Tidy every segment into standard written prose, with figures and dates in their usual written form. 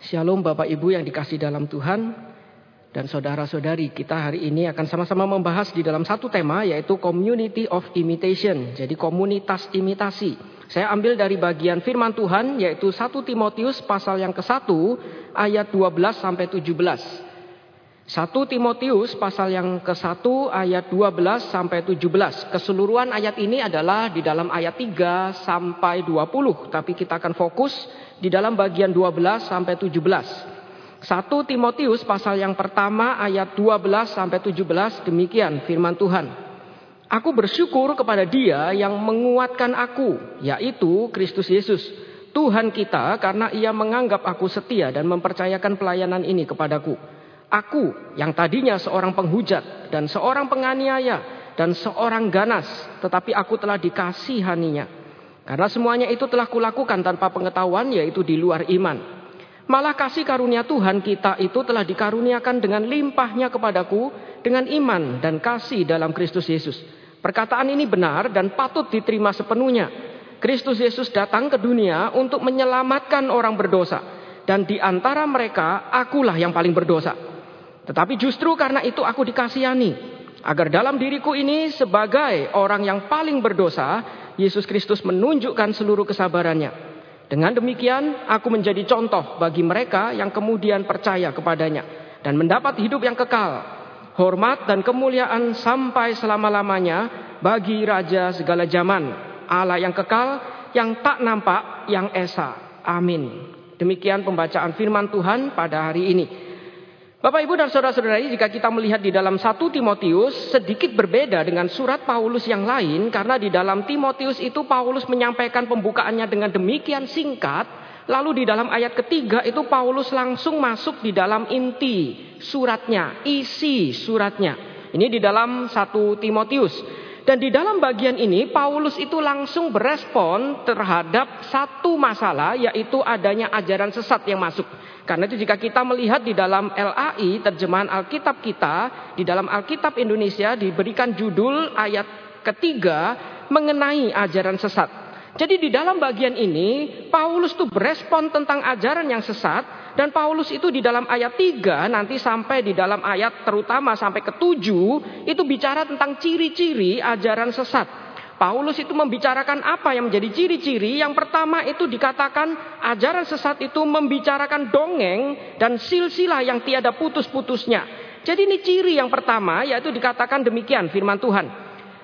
Shalom Bapak Ibu yang dikasih dalam Tuhan dan saudara-saudari, kita hari ini akan sama-sama membahas di dalam satu tema, yaitu Community of Imitation, jadi komunitas imitasi. Saya ambil dari bagian firman Tuhan, yaitu 1 Timotius pasal yang ke-1 ayat 12 sampai 17. 1 Timotius pasal yang ke-1 ayat 12 sampai 17. Keseluruhan ayat ini adalah di dalam ayat 3 sampai 20, tapi kita akan fokus di dalam bagian 12 sampai 17. 1 Timotius pasal yang pertama ayat 12 sampai 17, demikian firman Tuhan. Aku bersyukur kepada Dia yang menguatkan aku, yaitu Kristus Yesus, Tuhan kita, karena Ia menganggap aku setia dan mempercayakan pelayanan ini kepadaku. Aku yang tadinya seorang penghujat dan seorang penganiaya dan seorang ganas, tetapi aku telah dikasihaninya. Karena semuanya itu telah kulakukan tanpa pengetahuan, yaitu di luar iman. Malah kasih karunia Tuhan kita itu telah dikaruniakan dengan limpahnya kepadaku dengan iman dan kasih dalam Kristus Yesus. Perkataan ini benar dan patut diterima sepenuhnya. Kristus Yesus datang ke dunia untuk menyelamatkan orang berdosa. Dan di antara mereka akulah yang paling berdosa. Tetapi justru karena itu aku dikasihani, agar dalam diriku ini sebagai orang yang paling berdosa, Yesus Kristus menunjukkan seluruh kesabarannya. Dengan demikian aku menjadi contoh bagi mereka yang kemudian percaya kepadanya dan mendapat hidup yang kekal, hormat dan kemuliaan sampai selama-lamanya bagi Raja segala zaman, Allah yang kekal, yang tak nampak, yang esa. Amin. Demikian pembacaan firman Tuhan pada hari ini. Bapak, Ibu, dan saudara-saudari, jika kita melihat di dalam 1 Timotius sedikit berbeda dengan surat Paulus yang lain, karena di dalam Timotius itu Paulus menyampaikan pembukaannya dengan demikian singkat, lalu di dalam ayat ketiga itu Paulus langsung masuk di dalam inti suratnya, isi suratnya. Ini di dalam 1 Timotius. Dan di dalam bagian ini Paulus itu langsung berespon terhadap satu masalah, yaitu adanya ajaran sesat yang masuk. Karena itu jika kita melihat di dalam LAI, terjemahan Alkitab kita, di dalam Alkitab Indonesia diberikan judul ayat ketiga mengenai ajaran sesat. Jadi di dalam bagian ini Paulus tuh berespon tentang ajaran yang sesat. Dan Paulus itu di dalam ayat 3 nanti sampai di dalam ayat terutama sampai ke-7 itu bicara tentang ciri-ciri ajaran sesat. Paulus itu membicarakan apa yang menjadi ciri-ciri. Yang pertama itu dikatakan ajaran sesat itu membicarakan dongeng dan silsilah yang tiada putus-putusnya. Jadi ini ciri yang pertama, yaitu dikatakan demikian firman Tuhan.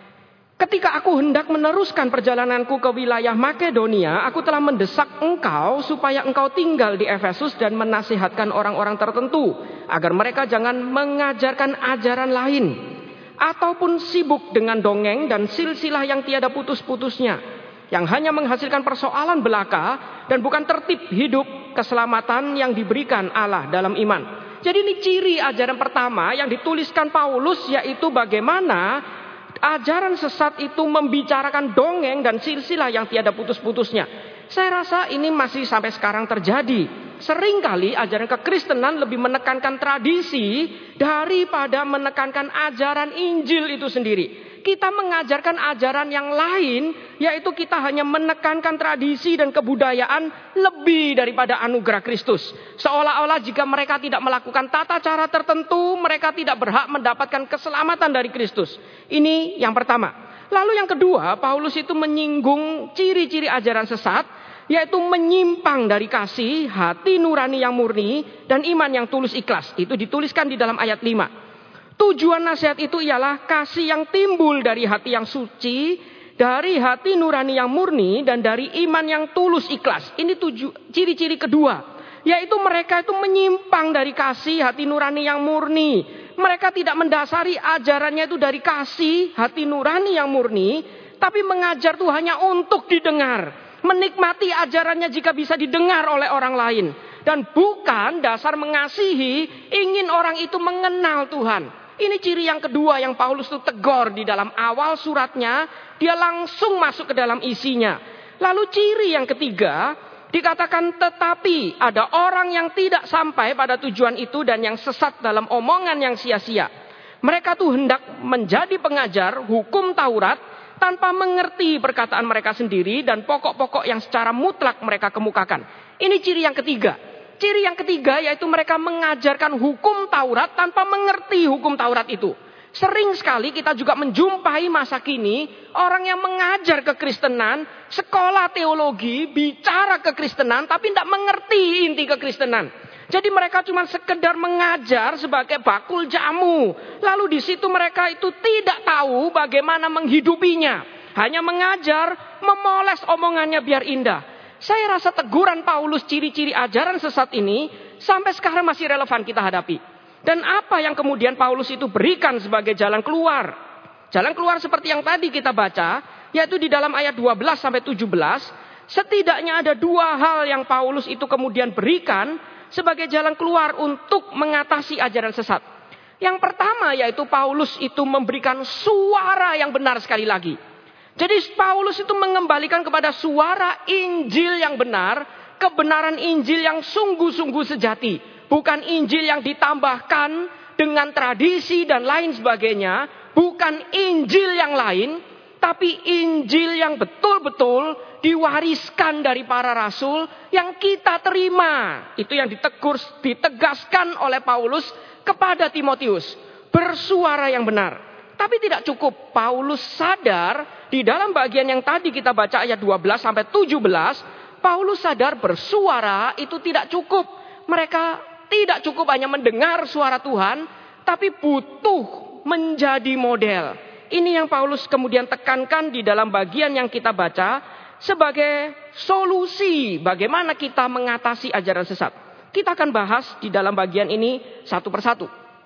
Ketika aku hendak meneruskan perjalananku ke wilayah Makedonia, aku telah mendesak engkau supaya engkau tinggal di Efesus dan menasihatkan orang-orang tertentu agar mereka jangan mengajarkan ajaran lain ataupun sibuk dengan dongeng dan silsilah yang tiada putus-putusnya, yang hanya menghasilkan persoalan belaka dan bukan tertib hidup keselamatan yang diberikan Allah dalam iman. Jadi ini ciri ajaran pertama yang dituliskan Paulus, yaitu bagaimana ajaran sesat itu membicarakan dongeng dan silsilah yang tiada putus-putusnya. Saya rasa ini masih sampai sekarang terjadi. Seringkali ajaran kekristenan lebih menekankan tradisi daripada menekankan ajaran Injil itu sendiri. Kita mengajarkan ajaran yang lain, yaitu kita hanya menekankan tradisi dan kebudayaan lebih daripada anugerah Kristus. Seolah-olah jika mereka tidak melakukan tata cara tertentu, mereka tidak berhak mendapatkan keselamatan dari Kristus. Ini yang pertama. Lalu yang kedua, Paulus itu menyinggung ciri-ciri ajaran sesat, yaitu menyimpang dari kasih, hati nurani yang murni, dan iman yang tulus ikhlas. Itu dituliskan di dalam ayat 5. Tujuan nasihat itu ialah kasih yang timbul dari hati yang suci, dari hati nurani yang murni, dan dari iman yang tulus ikhlas. Ini ciri-ciri kedua, yaitu mereka itu menyimpang dari kasih, hati nurani yang murni. Mereka tidak mendasari ajarannya itu dari kasih, hati nurani yang murni, tapi mengajar itu hanya untuk didengar. Menikmati ajarannya jika bisa didengar oleh orang lain. Dan bukan dasar mengasihi, ingin orang itu mengenal Tuhan. Ini ciri yang kedua yang Paulus itu tegur di dalam awal suratnya. Dia langsung masuk ke dalam isinya. Lalu ciri yang ketiga dikatakan, tetapi ada orang yang tidak sampai pada tujuan itu dan yang sesat dalam omongan yang sia-sia. Mereka tuh hendak menjadi pengajar hukum Taurat tanpa mengerti perkataan mereka sendiri dan pokok-pokok yang secara mutlak mereka kemukakan. Ini ciri yang ketiga. Ciri yang ketiga yaitu mereka mengajarkan hukum Taurat tanpa mengerti hukum Taurat itu. Sering sekali kita juga menjumpai masa kini orang yang mengajar kekristenan, sekolah teologi, bicara kekristenan tapi tidak mengerti inti kekristenan. Jadi mereka cuma sekedar mengajar sebagai bakul jamu. Lalu di situ mereka itu tidak tahu bagaimana menghidupinya. Hanya mengajar, memoles omongannya biar indah. Saya rasa teguran Paulus ciri-ciri ajaran sesat ini sampai sekarang masih relevan kita hadapi. Dan apa yang kemudian Paulus itu berikan sebagai jalan keluar? Jalan keluar seperti yang tadi kita baca, yaitu di dalam ayat 12 sampai 17, setidaknya ada dua hal yang Paulus itu kemudian berikan sebagai jalan keluar untuk mengatasi ajaran sesat. Yang pertama yaitu Paulus itu memberikan suara yang benar sekali lagi. Jadi Paulus itu mengembalikan kepada suara Injil yang benar, kebenaran Injil yang sungguh-sungguh sejati. Bukan Injil yang ditambahkan dengan tradisi dan lain sebagainya. Bukan Injil yang lain, tapi Injil yang betul-betul diwariskan dari para rasul yang kita terima. Itu yang ditegaskan oleh Paulus kepada Timotius. Bersuara yang benar. Tapi tidak cukup. Paulus sadar di dalam bagian yang tadi kita baca ayat 12 sampai 17. Paulus sadar bersuara itu tidak cukup. Mereka tidak cukup hanya mendengar suara Tuhan. Tapi butuh menjadi model. Ini yang Paulus kemudian tekankan di dalam bagian yang kita baca. Sebagai solusi bagaimana kita mengatasi ajaran sesat. Kita akan bahas di dalam bagian ini satu persatu.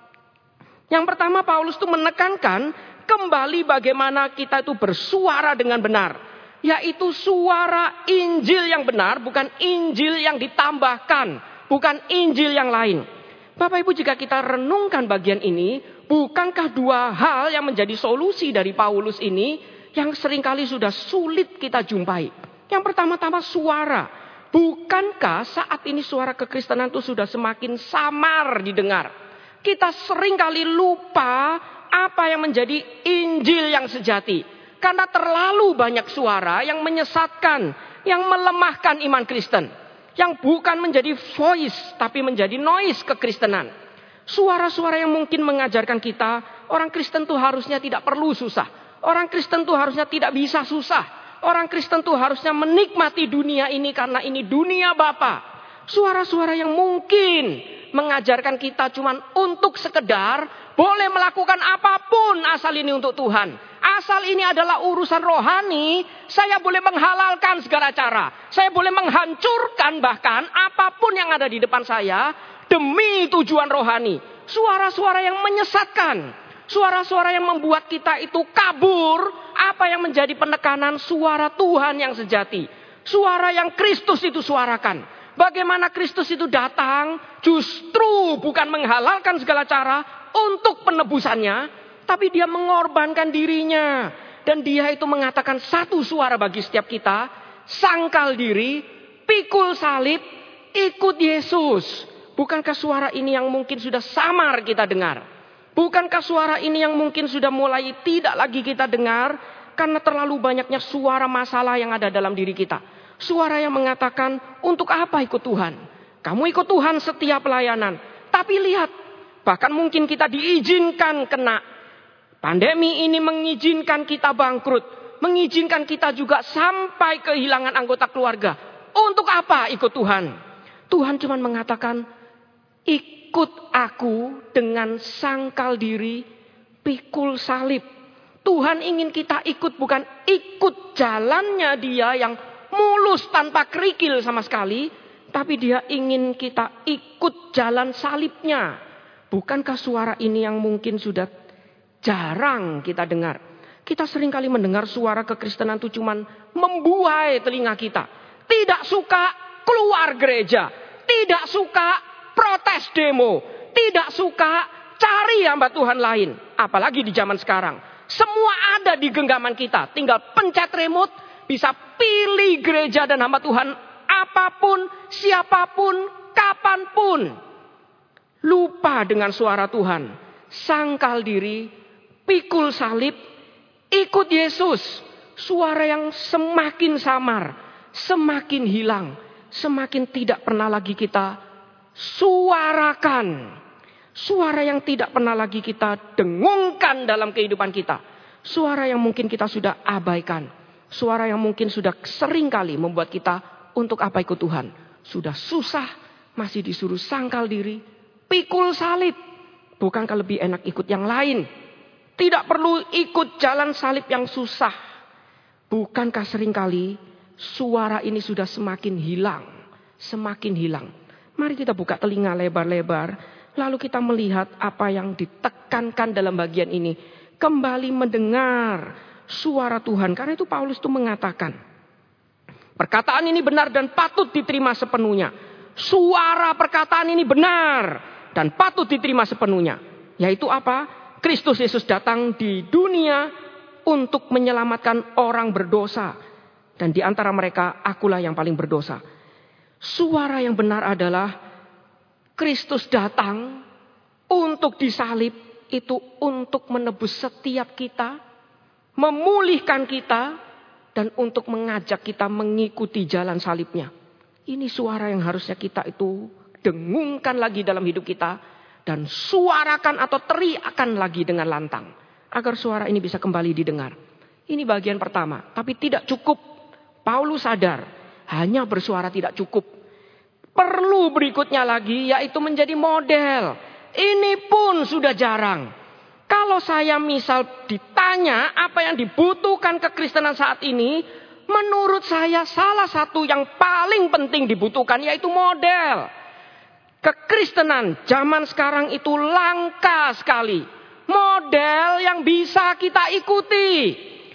Yang pertama Paulus itu menekankan kembali bagaimana kita itu bersuara dengan benar. Yaitu suara Injil yang benar, bukan Injil yang ditambahkan. Bukan Injil yang lain. Bapak Ibu, jika kita renungkan bagian ini, bukankah dua hal yang menjadi solusi dari Paulus ini yang seringkali sudah sulit kita jumpai. Yang pertama-tama suara. Bukankah saat ini suara kekristenan itu sudah semakin samar didengar? Kita seringkali lupa apa yang menjadi Injil yang sejati. Karena terlalu banyak suara yang menyesatkan, yang melemahkan iman Kristen. Yang bukan menjadi voice, tapi menjadi noise kekristenan. Suara-suara yang mungkin mengajarkan kita, orang Kristen itu harusnya tidak perlu susah. Orang Kristen itu harusnya tidak bisa susah. Orang Kristen itu harusnya menikmati dunia ini karena ini dunia Bapa. Suara-suara yang mungkin mengajarkan kita cuma untuk sekedar boleh melakukan apapun asal ini untuk Tuhan. Asal ini adalah urusan rohani, saya boleh menghalalkan segala cara. Saya boleh menghancurkan bahkan apapun yang ada di depan saya demi tujuan rohani. Suara-suara yang menyesatkan. Suara-suara yang membuat kita itu kabur. Apa yang menjadi penekanan suara Tuhan yang sejati. Suara yang Kristus itu suarakan. Bagaimana Kristus itu datang justru bukan menghalalkan segala cara untuk penebusannya. Tapi dia mengorbankan dirinya. Dan dia itu mengatakan satu suara bagi setiap kita. Sangkal diri, pikul salib, ikut Yesus. Bukankah suara ini yang mungkin sudah samar kita dengar? Bukankah suara ini yang mungkin sudah mulai tidak lagi kita dengar? Karena terlalu banyaknya suara masalah yang ada dalam diri kita. Suara yang mengatakan, untuk apa ikut Tuhan? Kamu ikut Tuhan setiap pelayanan. Tapi lihat, bahkan mungkin kita diizinkan kena. Pandemi ini mengizinkan kita bangkrut. Mengizinkan kita juga sampai kehilangan anggota keluarga. Untuk apa ikut Tuhan? Tuhan cuma mengatakan, ikut aku dengan sangkal diri, pikul salib. Tuhan ingin kita ikut, bukan ikut jalannya dia yang mulus tanpa kerikil sama sekali. Tapi dia ingin kita ikut jalan salibnya. Bukankah suara ini yang mungkin sudah jarang kita dengar? Kita seringkali mendengar suara kekristenan itu cuma membuai telinga kita. Tidak suka keluar gereja. Tidak suka protes demo. Tidak suka cari hamba Tuhan lain. Apalagi di zaman sekarang. Semua ada di genggaman kita. Tinggal pencet remote. Bisa pilih gereja dan hamba Tuhan. Apapun, siapapun, kapanpun. Lupa dengan suara Tuhan. Sangkal diri. Pikul salib. Ikut Yesus. Suara yang semakin samar. Semakin hilang. Semakin tidak pernah lagi kita Suarakan. Suara yang tidak pernah lagi kita dengungkan dalam kehidupan kita. Suara yang mungkin kita sudah abaikan. Suara yang mungkin sudah sering kali membuat kita untuk apa ikut Tuhan. Sudah susah, masih disuruh sangkal diri, pikul salib. Bukankah lebih enak ikut yang lain? Tidak perlu ikut jalan salib yang susah. Bukankah seringkali suara ini sudah semakin hilang. Semakin hilang. Mari kita buka telinga lebar-lebar. Lalu kita melihat apa yang ditekankan dalam bagian ini. Kembali mendengar suara Tuhan. Karena itu Paulus itu mengatakan. Perkataan ini benar dan patut diterima sepenuhnya. Suara perkataan ini benar dan patut diterima sepenuhnya. Yaitu apa? Kristus Yesus datang di dunia untuk menyelamatkan orang berdosa. Dan di antara mereka akulah yang paling berdosa. Suara yang benar adalah Kristus datang untuk disalib, itu untuk menebus setiap kita, memulihkan kita, dan untuk mengajak kita mengikuti jalan salibnya. Ini suara yang harusnya kita itu dengungkan lagi dalam hidup kita, dan suarakan atau teriakan lagi dengan lantang, agar suara ini bisa kembali didengar. Ini bagian pertama, tapi tidak cukup. Paulus sadar, hanya bersuara tidak cukup. Perlu berikutnya lagi, yaitu menjadi model. Ini pun sudah jarang. Kalau saya misal ditanya apa yang dibutuhkan kekristenan saat ini, menurut saya salah satu yang paling penting dibutuhkan yaitu model. Kekristenan zaman sekarang itu langka sekali. Model yang bisa kita ikuti.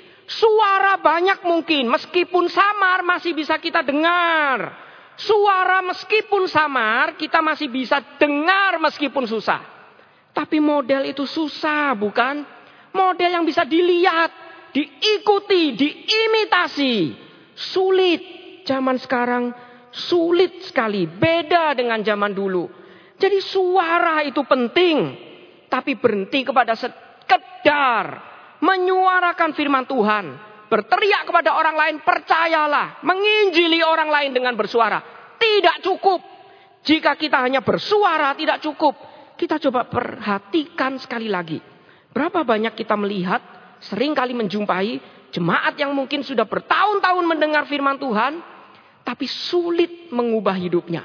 Suara banyak mungkin, meskipun samar masih bisa kita dengar. Suara meskipun samar, kita masih bisa dengar meskipun susah. Tapi model itu susah, bukan? Model yang bisa dilihat, diikuti, diimitasi. Sulit. Zaman sekarang sulit sekali. Beda dengan zaman dulu. Jadi suara itu penting. Tapi berhenti kepada sekedar menyuarakan firman Tuhan. Berteriak kepada orang lain, percayalah. Menginjili orang lain dengan bersuara. Tidak cukup. Jika kita hanya bersuara, tidak cukup. Kita coba perhatikan sekali lagi. Berapa banyak kita melihat, sering kali menjumpai jemaat yang mungkin sudah bertahun-tahun mendengar firman Tuhan, tapi sulit mengubah hidupnya.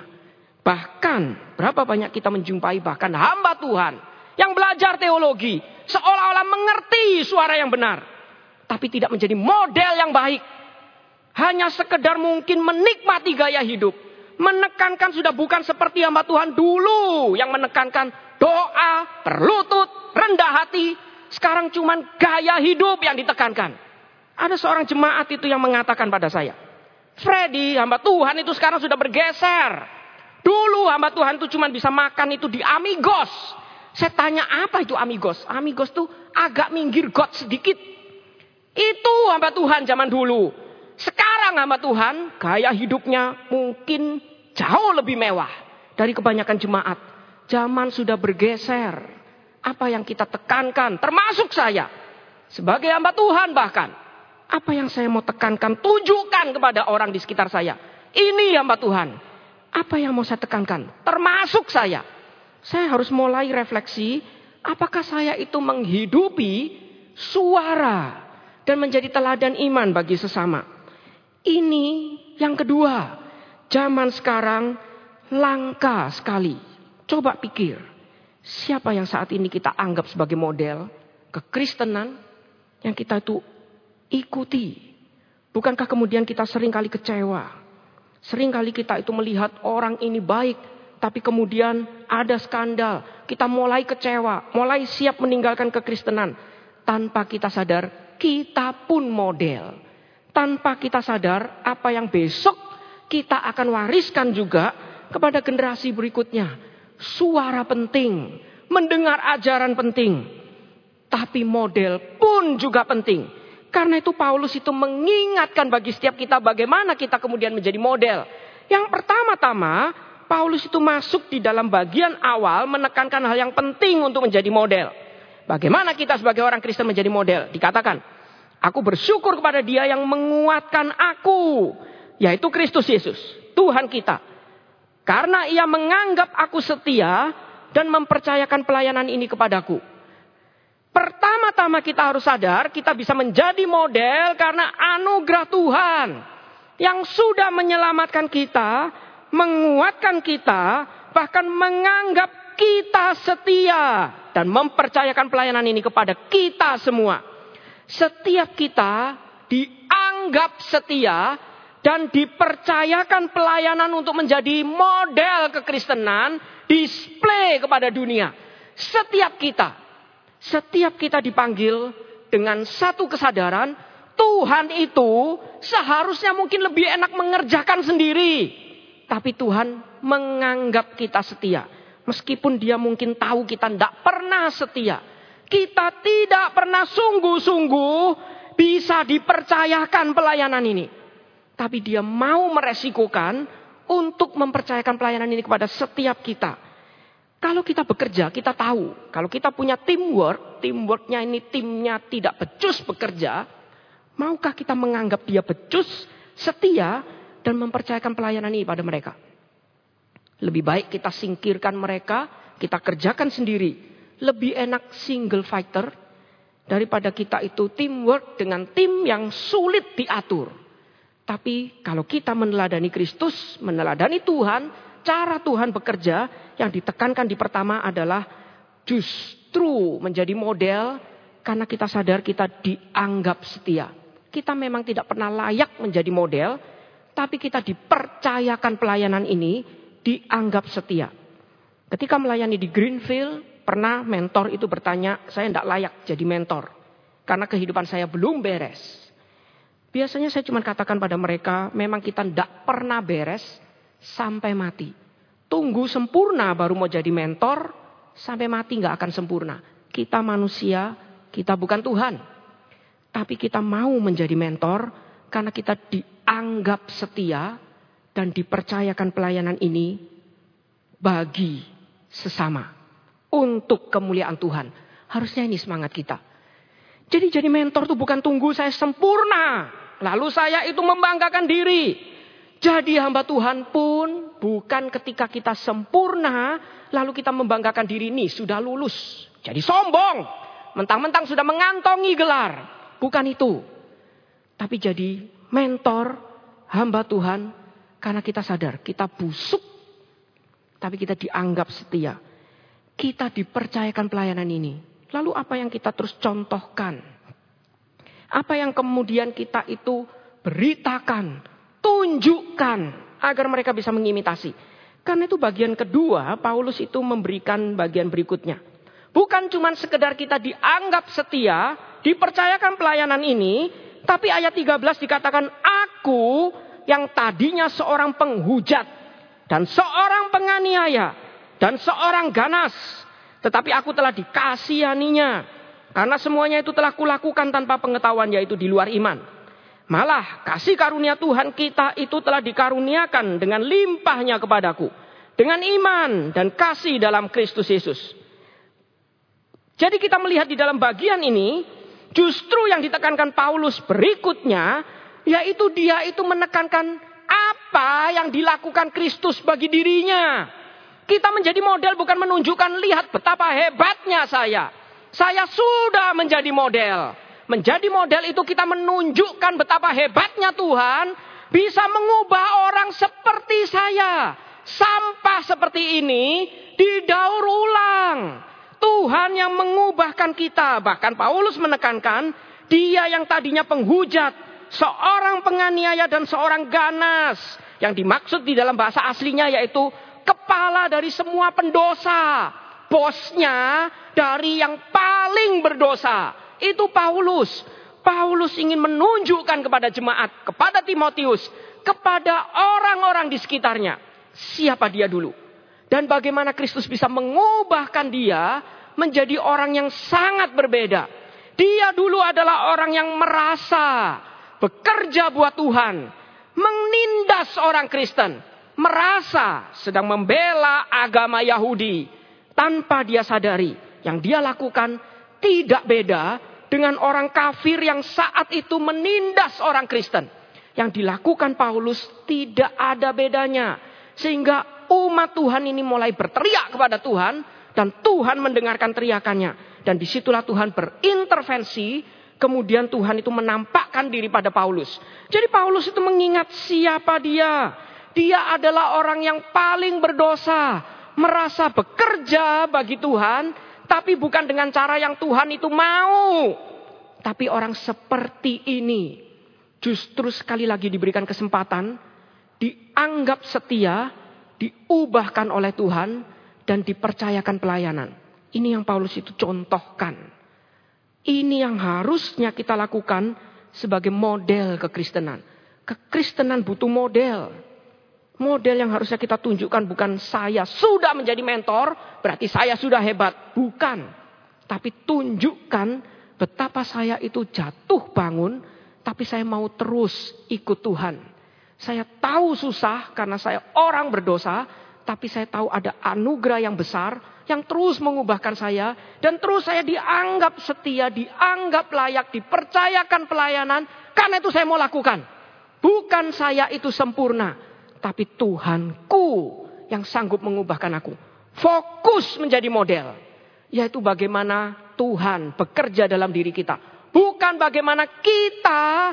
Bahkan, berapa banyak kita menjumpai bahkan hamba Tuhan yang belajar teologi, seolah-olah mengerti suara yang benar. Tapi tidak menjadi model yang baik. Hanya sekedar mungkin menikmati gaya hidup. Menekankan sudah bukan seperti hamba Tuhan dulu. Yang menekankan doa, berlutut, rendah hati. Sekarang cuman gaya hidup yang ditekankan. Ada seorang jemaat itu yang mengatakan pada saya. Freddy, hamba Tuhan itu sekarang sudah bergeser. Dulu hamba Tuhan itu cuman bisa makan itu di Amigos. Saya tanya apa itu Amigos? Amigos itu agak minggir got sedikit. Itu hamba Tuhan zaman dulu. Sekarang hamba Tuhan gaya hidupnya mungkin jauh lebih mewah dari kebanyakan jemaat. Zaman sudah bergeser. Apa yang kita tekankan termasuk saya. Sebagai hamba Tuhan bahkan. Apa yang saya mau tekankan tunjukkan kepada orang di sekitar saya. Ini hamba Tuhan. Apa yang mau saya tekankan termasuk saya. Saya harus mulai refleksi. Apakah saya itu menghidupi suara dan menjadi teladan iman bagi sesama. Ini yang kedua. Zaman sekarang langka sekali. Coba pikir. Siapa yang saat ini kita anggap sebagai model kekristenan yang kita itu ikuti. Bukankah kemudian kita seringkali kecewa. Seringkali kita itu melihat orang ini baik. Tapi kemudian ada skandal. Kita mulai kecewa. Mulai siap meninggalkan kekristenan. Tanpa kita sadar. Kita pun model. Tanpa kita sadar apa yang besok kita akan wariskan juga kepada generasi berikutnya. Suara penting. Mendengar ajaran penting. Tapi model pun juga penting. Karena itu Paulus itu mengingatkan bagi setiap kita bagaimana kita kemudian menjadi model. Yang pertama-tama Paulus itu masuk di dalam bagian awal menekankan hal yang penting untuk menjadi model. Bagaimana kita sebagai orang Kristen menjadi model? Dikatakan, aku bersyukur kepada Dia yang menguatkan aku, yaitu Kristus Yesus, Tuhan kita. Karena ia menganggap aku setia dan mempercayakan pelayanan ini kepadaku. Pertama-tama kita harus sadar kita bisa menjadi model karena anugerah Tuhan. Yang sudah menyelamatkan kita, menguatkan kita, bahkan menganggap kita setia. Dan mempercayakan pelayanan ini kepada kita semua. Setiap kita dianggap setia dan dipercayakan pelayanan untuk menjadi model kekristenan, display kepada dunia. Setiap kita dipanggil dengan satu kesadaran, Tuhan itu seharusnya mungkin lebih enak mengerjakan sendiri. Tapi Tuhan menganggap kita setia. Meskipun dia mungkin tahu kita tidak pernah setia. Kita tidak pernah sungguh-sungguh bisa dipercayakan pelayanan ini. Tapi dia mau meresikokan untuk mempercayakan pelayanan ini kepada setiap kita. Kalau kita bekerja, kita tahu. Kalau kita punya teamworknya ini timnya tidak becus bekerja. Maukah kita menganggap dia becus, setia, dan mempercayakan pelayanan ini pada mereka? Lebih baik kita singkirkan mereka, kita kerjakan sendiri. Lebih enak single fighter daripada kita itu teamwork dengan tim yang sulit diatur. Tapi kalau kita meneladani Kristus, meneladani Tuhan, cara Tuhan bekerja yang ditekankan di pertama adalah justru menjadi model karena kita sadar kita dianggap setia. Kita memang tidak pernah layak menjadi model, tapi kita dipercayakan pelayanan ini dianggap setia. Ketika melayani di Greenfield, pernah mentor itu bertanya, saya tidak layak jadi mentor karena kehidupan saya belum beres. Biasanya saya cuma katakan pada mereka, memang kita tidak pernah beres sampai mati. Tunggu sempurna baru mau jadi mentor, sampai mati nggak akan sempurna. Kita manusia, kita bukan Tuhan. Tapi kita mau menjadi mentor karena kita dianggap setia dan dipercayakan pelayanan ini bagi sesama. Untuk kemuliaan Tuhan. Harusnya ini semangat kita. Jadi mentor itu bukan tunggu saya sempurna. Lalu saya itu membanggakan diri. Jadi hamba Tuhan pun bukan ketika kita sempurna. Lalu kita membanggakan diri ini sudah lulus. Jadi sombong. Mentang-mentang sudah mengantongi gelar. Bukan itu. Tapi jadi mentor hamba Tuhan. Karena kita sadar kita busuk. Tapi kita dianggap setia. Kita dipercayakan pelayanan ini. Lalu apa yang kita terus contohkan? Apa yang kemudian kita itu beritakan, tunjukkan agar mereka bisa mengimitasi. Karena itu bagian kedua, Paulus itu memberikan bagian berikutnya. Bukan cuma sekedar kita dianggap setia, dipercayakan pelayanan ini, tapi ayat 13 dikatakan, aku yang tadinya seorang penghujat dan seorang penganiaya dan seorang ganas, tetapi aku telah dikasihaninya. Karena semuanya itu telah kulakukan tanpa pengetahuan, yaitu di luar iman. Malah kasih karunia Tuhan kita itu telah dikaruniakan dengan limpahnya kepadaku. Dengan iman dan kasih dalam Kristus Yesus. Jadi kita melihat di dalam bagian ini, justru yang ditekankan Paulus berikutnya, yaitu dia itu menekankan apa yang dilakukan Kristus bagi dirinya. Kita menjadi model bukan menunjukkan lihat betapa hebatnya saya. Saya sudah menjadi model. Menjadi model itu kita menunjukkan betapa hebatnya Tuhan bisa mengubah orang seperti saya. Sampah seperti ini didaur ulang. Tuhan yang mengubahkan kita. Bahkan Paulus menekankan dia yang tadinya penghujat, seorang penganiaya dan seorang ganas. Yang dimaksud di dalam bahasa aslinya yaitu kepala dari semua pendosa. Bosnya dari yang paling berdosa. Itu Paulus. Paulus ingin menunjukkan kepada jemaat, kepada Timotius, kepada orang-orang di sekitarnya. Siapa dia dulu. Dan bagaimana Kristus bisa mengubahkan dia menjadi orang yang sangat berbeda. Dia dulu adalah orang yang merasa bekerja buat Tuhan. Menindas orang Kristen. Merasa sedang membela agama Yahudi. Tanpa dia sadari yang dia lakukan tidak beda dengan orang kafir yang saat itu menindas orang Kristen. Yang dilakukan Paulus tidak ada bedanya. Sehingga umat Tuhan ini mulai berteriak kepada Tuhan. Dan Tuhan mendengarkan teriakannya. Dan disitulah Tuhan berintervensi. Kemudian Tuhan itu menampakkan diri pada Paulus. Jadi Paulus itu mengingat siapa dia. Dia adalah orang yang paling berdosa. Merasa bekerja bagi Tuhan. Tapi bukan dengan cara yang Tuhan itu mau. Tapi orang seperti ini. Justru sekali lagi diberikan kesempatan. Dianggap setia. Diubahkan oleh Tuhan. Dan dipercayakan pelayanan. Ini yang Paulus itu contohkan. Ini yang harusnya kita lakukan sebagai model kekristenan. Kekristenan butuh model. Model yang harusnya kita tunjukkan bukan saya sudah menjadi mentor, berarti saya sudah hebat. Bukan. Tapi tunjukkan betapa saya itu jatuh bangun, tapi saya mau terus ikut Tuhan. Saya tahu susah karena saya orang berdosa, tapi saya tahu ada anugerah yang besar yang terus mengubahkan saya. Dan terus saya dianggap setia, dianggap layak, dipercayakan pelayanan. Karena itu saya mau lakukan. Bukan saya itu sempurna. Tapi Tuhanku yang sanggup mengubahkan aku. Fokus menjadi model. Yaitu bagaimana Tuhan bekerja dalam diri kita. Bukan bagaimana kita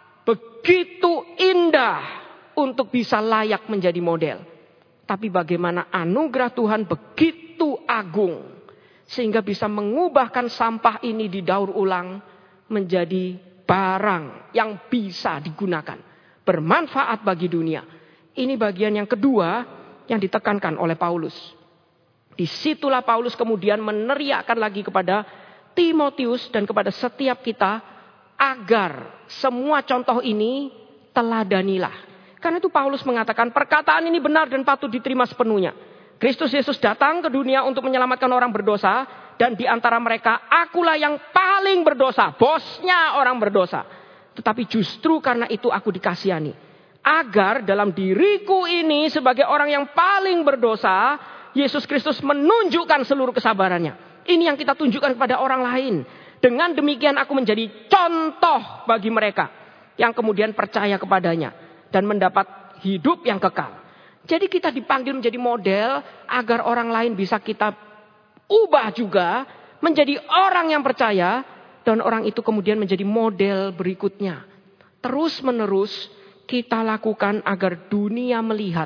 begitu indah untuk bisa layak menjadi model. Tapi bagaimana anugerah Tuhan begitu agung. Sehingga bisa mengubahkan sampah ini didaur ulang menjadi barang yang bisa digunakan. Bermanfaat bagi dunia. Ini bagian yang kedua yang ditekankan oleh Paulus. Disitulah Paulus kemudian meneriakkan lagi kepada Timotius dan kepada setiap kita. Agar semua contoh ini teladanilah. Karena itu Paulus mengatakan perkataan ini benar dan patut diterima sepenuhnya. Kristus Yesus datang ke dunia untuk menyelamatkan orang berdosa. Dan di antara mereka akulah yang paling berdosa. Bosnya orang berdosa. Tetapi justru karena itu aku dikasihani. Agar dalam diriku ini sebagai orang yang paling berdosa. Yesus Kristus menunjukkan seluruh kesabarannya. Ini yang kita tunjukkan kepada orang lain. Dengan demikian aku menjadi contoh bagi mereka. Yang kemudian percaya kepadanya. Dan mendapat hidup yang kekal. Jadi kita dipanggil menjadi model agar orang lain bisa kita ubah juga menjadi orang yang percaya. Dan orang itu kemudian menjadi model berikutnya. Terus menerus kita lakukan agar dunia melihat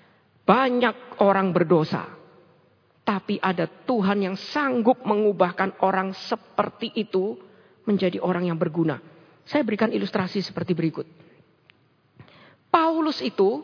banyak orang berdosa. Tapi ada Tuhan yang sanggup mengubahkan orang seperti itu menjadi orang yang berguna. Saya berikan ilustrasi seperti berikut. Paulus itu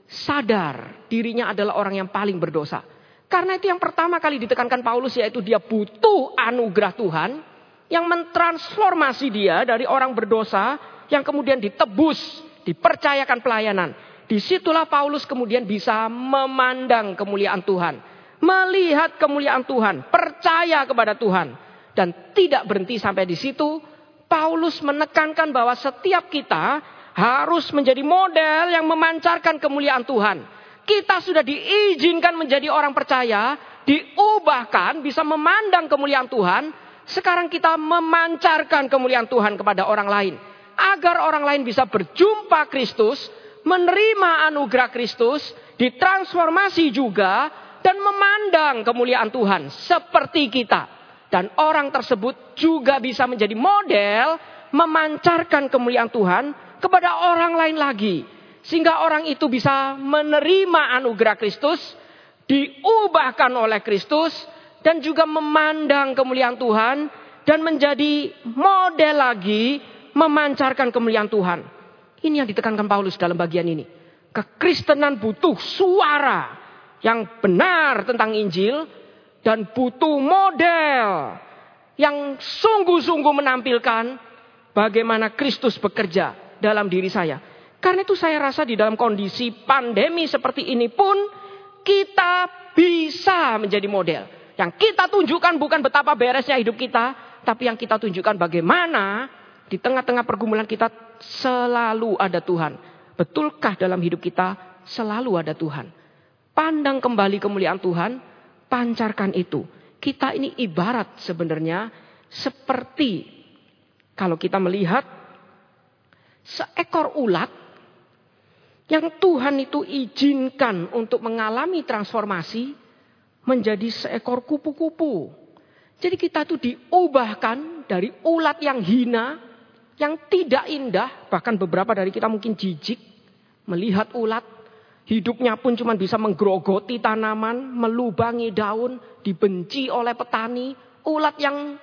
sadar dirinya adalah orang yang paling berdosa. Karena itu yang pertama kali ditekankan Paulus yaitu dia butuh anugerah Tuhan. Yang mentransformasi dia dari orang berdosa yang kemudian ditebus, dipercayakan pelayanan. Disitulah Paulus kemudian bisa memandang kemuliaan Tuhan. Melihat kemuliaan Tuhan, percaya kepada Tuhan. Dan tidak berhenti sampai di situ. Paulus menekankan bahwa setiap kita harus menjadi model yang memancarkan kemuliaan Tuhan. Kita sudah diizinkan menjadi orang percaya, diubahkan, bisa memandang kemuliaan Tuhan. Sekarang kita memancarkan kemuliaan Tuhan kepada orang lain. Agar orang lain bisa berjumpa Kristus, menerima anugerah Kristus, ditransformasi juga, dan memandang kemuliaan Tuhan seperti kita. Dan orang tersebut juga bisa menjadi model, memancarkan kemuliaan Tuhan kepada orang lain lagi. Sehingga orang itu bisa menerima anugerah Kristus. Diubahkan oleh Kristus. Dan juga memandang kemuliaan Tuhan. Dan menjadi model lagi. Memancarkan kemuliaan Tuhan. Ini yang ditekankan Paulus dalam bagian ini. Kekristenan butuh suara yang benar tentang Injil. Dan butuh model yang sungguh-sungguh menampilkan bagaimana Kristus bekerja dalam diri saya. Karena itu saya rasa di dalam kondisi pandemi seperti ini pun kita bisa menjadi model. Yang kita tunjukkan bukan betapa beresnya hidup kita, tapi yang kita tunjukkan bagaimana di tengah-tengah pergumulan kita selalu ada Tuhan. Betulkah dalam hidup kita selalu ada Tuhan? Pandang kembali kemuliaan Tuhan, pancarkan itu. Kita ini ibarat sebenarnya seperti kalau kita melihat seekor ulat Yang Tuhan itu izinkan untuk mengalami transformasi menjadi seekor kupu-kupu. Jadi kita tuh diubahkan dari ulat yang hina, yang tidak indah. Bahkan beberapa dari kita mungkin jijik melihat ulat. Hidupnya pun cuma bisa menggerogoti tanaman, melubangi daun, dibenci oleh petani. Ulat yang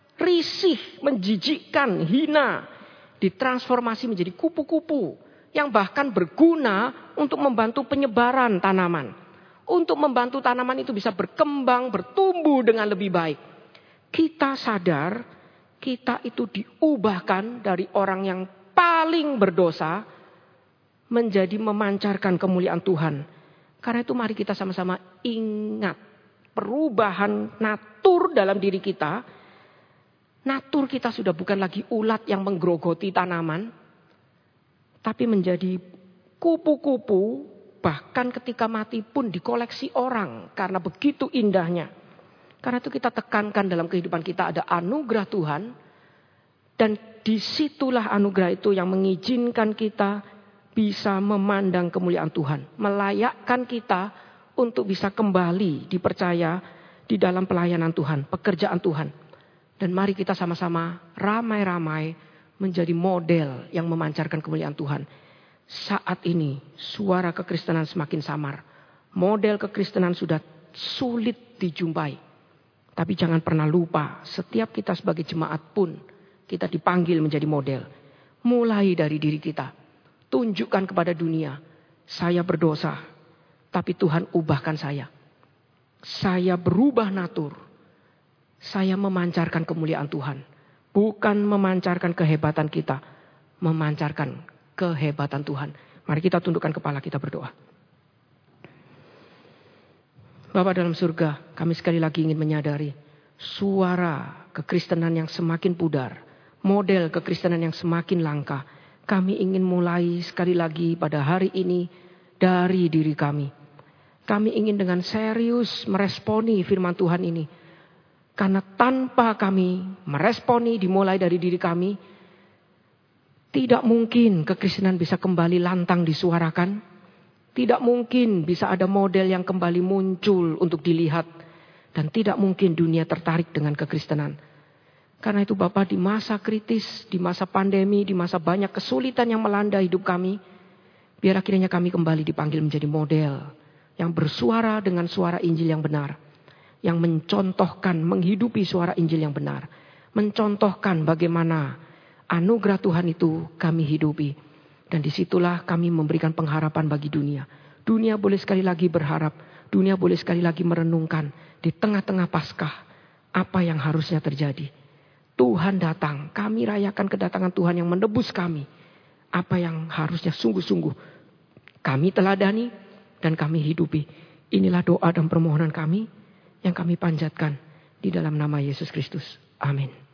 risih, menjijikkan, hina, ditransformasi menjadi kupu-kupu yang bahkan berguna untuk membantu penyebaran tanaman. Untuk membantu tanaman itu bisa berkembang, bertumbuh dengan lebih baik. Kita sadar, kita itu diubahkan dari orang yang paling berdosa menjadi memancarkan kemuliaan Tuhan. Karena itu mari kita sama-sama ingat perubahan natur dalam diri kita. Natur kita sudah bukan lagi ulat yang menggerogoti tanaman, tapi menjadi kupu-kupu, bahkan ketika mati pun dikoleksi orang karena begitu indahnya. Karena itu kita tekankan dalam kehidupan kita ada anugerah Tuhan, dan disitulah anugerah itu yang mengizinkan kita bisa memandang kemuliaan Tuhan, melayakkan kita untuk bisa kembali dipercaya di dalam pelayanan Tuhan, pekerjaan Tuhan. Dan mari kita sama-sama ramai-ramai menjadi model yang memancarkan kemuliaan Tuhan. Saat ini suara kekristenan semakin samar. Model kekristenan sudah sulit dijumpai. Tapi jangan pernah lupa, setiap kita sebagai jemaat pun kita dipanggil menjadi model. Mulai dari diri kita. Tunjukkan kepada dunia, saya berdosa, tapi Tuhan ubahkan saya. Saya berubah natur. Saya memancarkan kemuliaan Tuhan. Bukan memancarkan kehebatan kita, memancarkan kehebatan Tuhan. Mari kita tundukkan kepala, kita berdoa. Bapa dalam surga, kami sekali lagi ingin menyadari suara kekristenan yang semakin pudar, model kekristenan yang semakin langka. Kami ingin mulai sekali lagi pada hari ini dari diri kami. Kami ingin dengan serius meresponi firman Tuhan ini. Karena tanpa kami meresponi dimulai dari diri kami, tidak mungkin kekristenan bisa kembali lantang disuarakan. Tidak mungkin bisa ada model yang kembali muncul untuk dilihat. Dan tidak mungkin dunia tertarik dengan kekristenan. Karena itu Bapak, di masa kritis, di masa pandemi, di masa banyak kesulitan yang melanda hidup kami, biar akhirnya kami kembali dipanggil menjadi model yang bersuara dengan suara Injil yang benar. Yang mencontohkan, menghidupi suara Injil yang benar. Mencontohkan bagaimana anugerah Tuhan itu kami hidupi. Dan disitulah kami memberikan pengharapan bagi dunia. Dunia boleh sekali lagi berharap. Dunia boleh sekali lagi merenungkan di tengah-tengah Paskah apa yang harusnya terjadi. Tuhan datang, kami rayakan kedatangan Tuhan yang menebus kami. Apa yang harusnya sungguh-sungguh kami teladani dan kami hidupi. Inilah doa dan permohonan kami yang kami panjatkan di dalam nama Yesus Kristus. Amin.